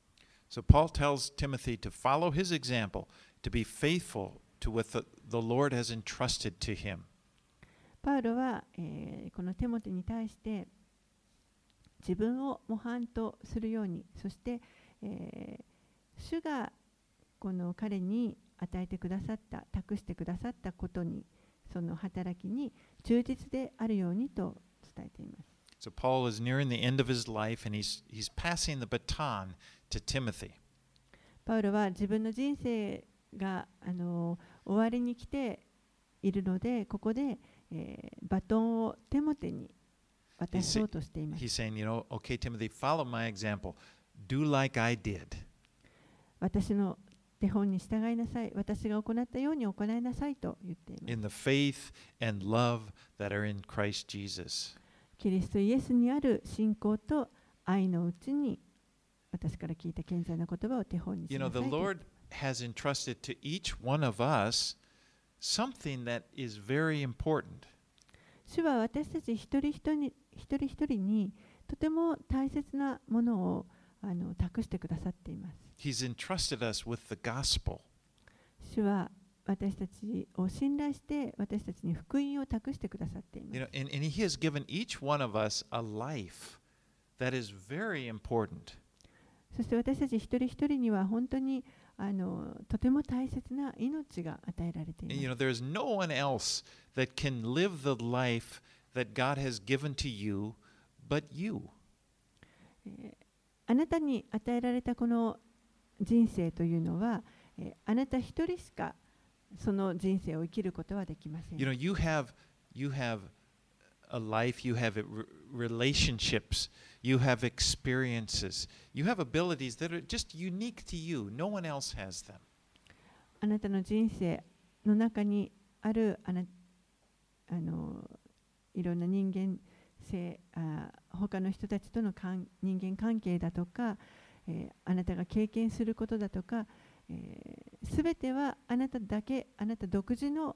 So Paul tells Timothy to follow his example, to be faithful to what the Lord has entrusted to him. パウロは、このテモテに対して自分を模範とするように、そして、主がこの彼に与えてくださった、託してくださったことに、その働きに忠実であるようにと伝えています。 So Paul is nearing the end of his life and he's passing the baton to Timothy. パウロは自分の人生が終わりに来ているので、ここで、バトンをテモテに渡そうとしています。 He's saying, okay, Timothy, follow my example. Do like I did. 私の手本に従いなさい。私が行ったように行いなさいと言っています。 In the faith and love that are in Christ Jesus. キリストイエスにある信仰と愛のうちに私から聞いた健全な言葉を手本にしなさい。 The Lord has entrusted to each one of us something that is very important. 主は私たち一人一人にとても大切なものを託してくださっています。 He's entrusted us with the gospel. 主は私たちを信頼して私たちに福音を託してくださっています。 And He has given each one of us a life that is very important. そして私たち一人一人には本当にとても大切な命が与えられています。 There is no one else that can live the life that God has given to you but you. あなたに与えられたこの人生というのは、あなた一人しかその人生を生きることはできません。 You have a life, you have relationships, you have experiences, you have abilities that are just unique to you. No one else has them. あなたの人生の中にあるいろんな人間性、他の人たちとの人間関係だとか、あなたが経験することだとか、すべてはあなただけ、あなた独自の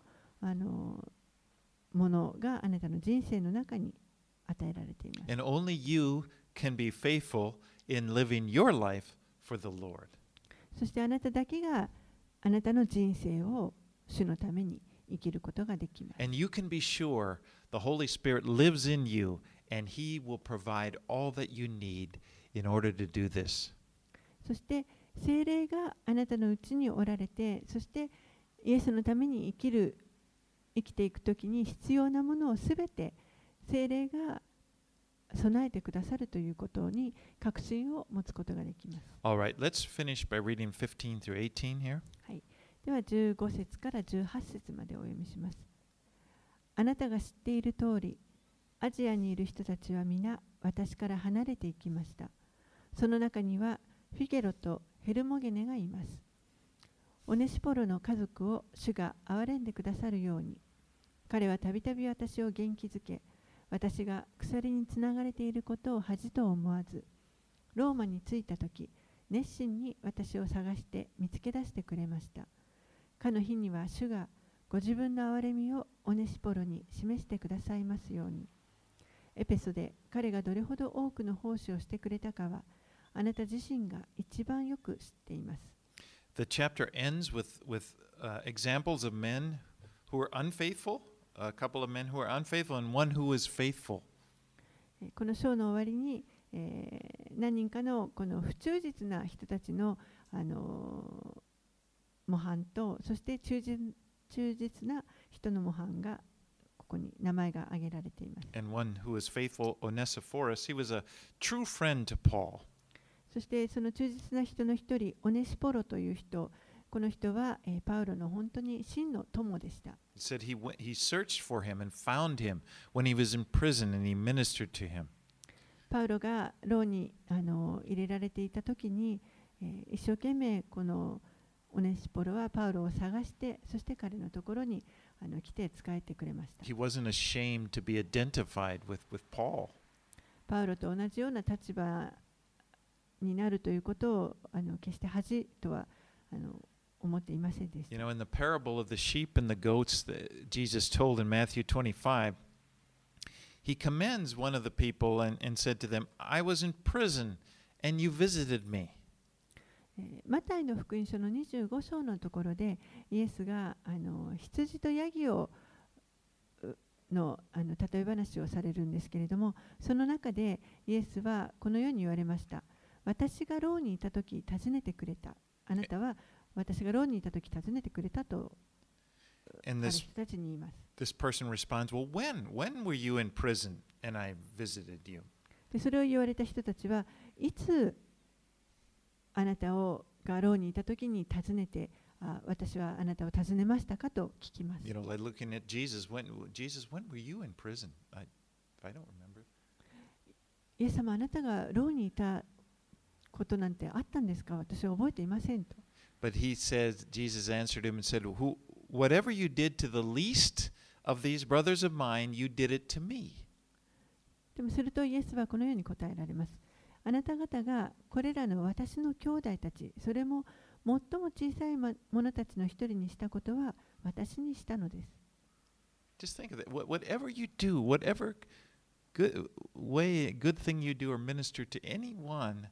ものがあなたの人生の中に与えられています。 And only you can be faithful in living your life for the Lord. そしてあなただけがあなたの人生を主のために生きることができます。 And you can be sure the Holy Spirit lives in you and He will provide all that you need in order to do this. そして聖霊があなたのうちにおられて、そしてイエスのために生きていくときに必要なものをすべて聖霊が備えてくださるということに確信を持つことができます。 All right, let's finish by reading 15 through 18 here. はい、では15節から18節までお読みします。あなたが知っている通り、アジアにいる人たちは皆私から離れていきました。その中にはフィゲロとヘルモゲネがいます。オネシポロの家族を主が憐れんでくださるように、彼はたびたび私を元気づけ、私が鎖につながれていることを恥と思わず、ローマに着いたとき、熱心に私を探して見つけ出してくれました。かの日には主がご自分の憐れみをオネシポロに示してくださいますように。 エペソで彼がどれほど多くの奉仕をしてくれたかは、あなた自身が一番よく知っています。 The chapter ends with examples of men who were unfaithful, a couple of men who were unfaithful, and one who was faithful. この章の終わりに、何人かのこの不忠実な人たちの、模範と、そして忠実な人の模範がここに名前が挙げられています。 And one who was faithful, Onesiphorus, he was a true friend to Paul. そしてその忠実な人の一人、オネシポロという人、この人は、パウロの本当に真の友でした。 He said he searched for him and found him when he was in prison and he ministered to him. パウロが牢に入れられていた時に、一生懸命このオネシポロはパウロを探して、そして彼のところに来て仕えてくれました。 He wasn't ashamed to be identified with Paul. パウロと同じような立場になるということを決して恥とは思っていませんでした。 You know, in the parable of the sheep and the goats that Jesus told in Matthew 25, he commends one of the people and said to them, I was in prison and you visited me. マタイの福音書の25章のところで、イエスが羊とヤギをの例え話をされるんですけれども、その中でイエスはこのように言われました。私が牢にいたとき訪ねてくれた。あなたは私が牢にいたとき訪ねてくれたとある人たちに言います。 This person responds, Well, when were you in prison and I visited you? でそれを言われた人たちは、いつあなたが牢にいたときに訪ねて、私はあなたを訪ねましたかと聞きます。 You know, like looking at Jesus, when were you in prison? I don't remember. イエス様、あなたが牢にいたことなんてあったんですか？私は覚えていませんと。 But he says, Jesus answered him and said, Whatever you did to the least of these brothers of mine, you did it to me. でもするとイエスはこのように答えられます。あなた方がこれらの私の兄弟たち、それも最も小さい者たちの一人にしたことは私にしたのです。 Just think of that. Whatever you do, whatever good thing you do or minister to anyone,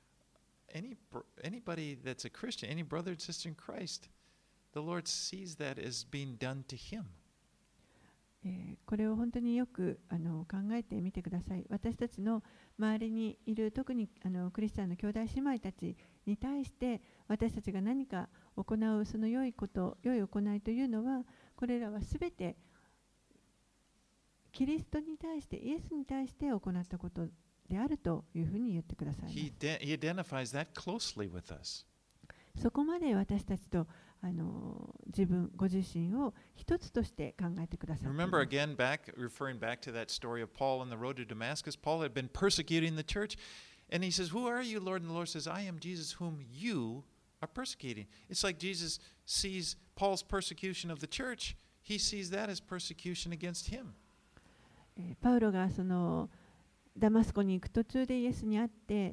anybody that's a Christian, any brother and sister in Christ, the Lord sees that as being done to him. これを本当によく考えてみてください。私たちの周りにいる特にクリスチャンの兄弟姉妹たちに対して私たちが何か行うその良いこと、良い行いというのは、これらはすべてキリストに対して、イエスに対して行ったことであるというふうに言ってください。 He identifies that closely with us. そこまで私たちとご自身を一つとして考えてください。 Remember again, referring back to that story of Paul on the road to Damascus, Paul had been persecuting the church, and he says, Who are you, Lord? And the Lord says, I am Jesus whom you are persecuting. It's like Jesus sees Paul's persecution of the church, he sees that as persecution against him. パウロがそのダマスコに行く途中でイエスに会って、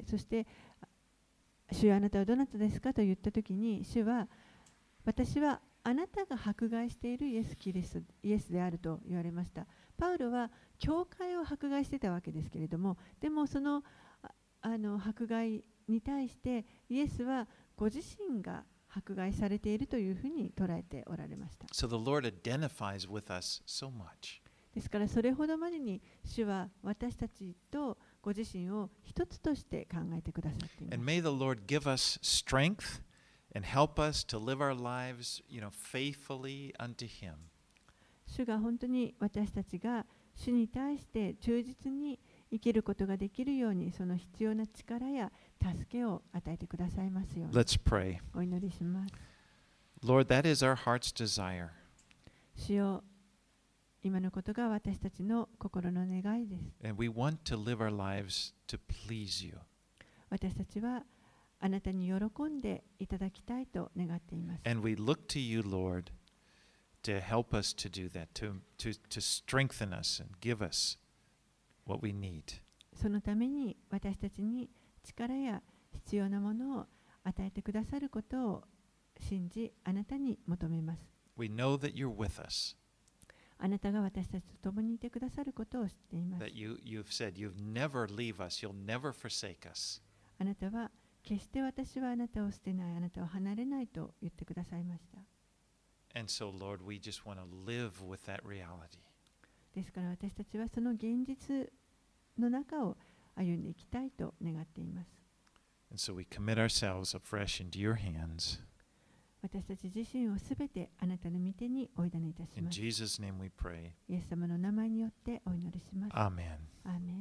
そして主よあなたはどなたですかと言ったときに、主は私はあなたが迫害しているイエスであると言われました。パウロは教会を迫害してたわけですけれども、でもその迫害に対してイエスはご自身が迫害されているというふうに捉えておられました。 So the Lord identifies with us so much. ですからそれほどまでに主は私たちとご自身を一つとして考えてくださっています。 And may the Lord give us strength and help us to live our lives, faithfully unto Him. 主が本当に私たちが主に対して忠実に生きることができるように、その必要な力や助けを与えてくださいますように。 Let's pray. お祈りします。 Lord, that is our heart's desire. 主よ、今のことが私たちの心の願いです。 And we want to live our lives to please you. 私たちはあなたに喜んでいただきたいと願っています。 And we look to you, Lord, to help us to do that, to strengthen us and give us what we need. そのために私たちに力や必要なものを与えてくださることを信じ、あなたに求めます。 We know that you're with us. あなたが私たちと共にいてくださることを知っています。 That you've said, you'll never leave us, you'll never forsake us. あなたは決して私はあなたを捨てない、あなたを離れないと言ってくださいました。 And so, Lord, we just want to live with that reality. ですから私たちはその現実の中を歩んでいきたいと願っています。 And so we commit ourselves afresh into your hands. 私たち自身をすべてあなたの御手にお委ねいたし In ます。 Jesus' name we pray. イエス様の名前によってお祈りします。 Amen. アーメン。